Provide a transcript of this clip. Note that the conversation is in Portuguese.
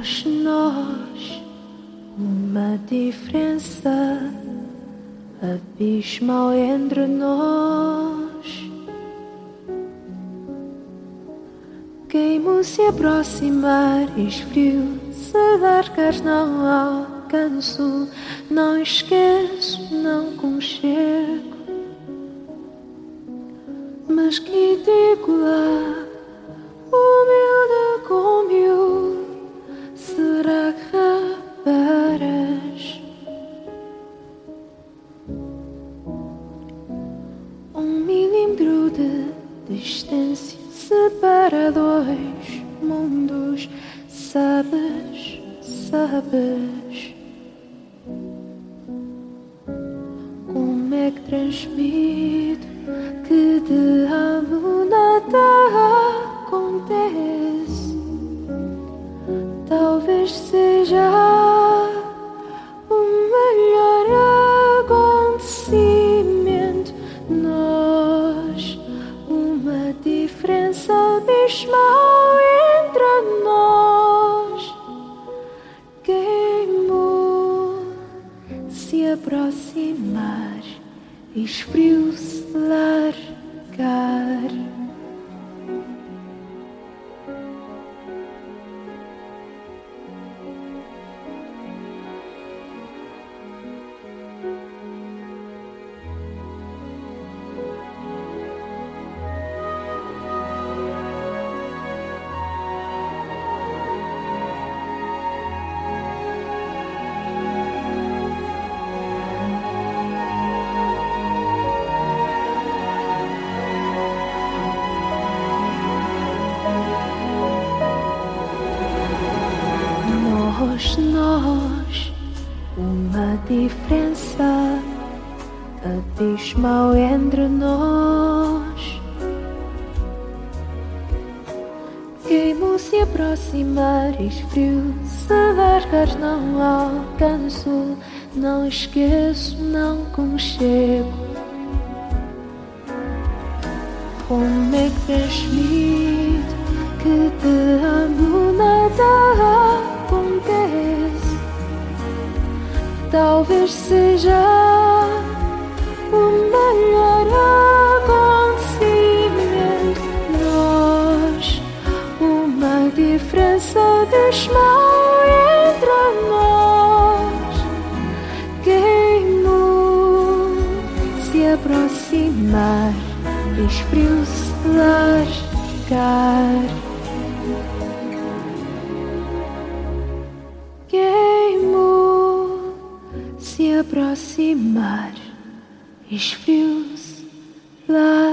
Nós, uma diferença abismal entre nós. Queimo se aproximar, esfrio, se largar não alcanço, não esqueço, não conchego. Mas que digo lá, humilde como eu, será que reparas? Milímetro de distância separa dois mundos, sabes, sabes. Como é que transmito que de amo nada acontece? Talvez seja o melhor acontecimento. Nós, uma diferença abismal entre nós. Queimou se aproximar, esfriou-se largar. Nós, uma diferença abismal entre nós. Queimo se aproximar, esfrio, se largar não alcanço, não esqueço, não conchego. Como é que transmito que te amo nada acontece? Talvez seja o melhor acontecimento. Nós, uma diferença abismal entre nós. Queimou se aproximar, esfriou-se largar. Queimou se aproximar, esfriou-se largar.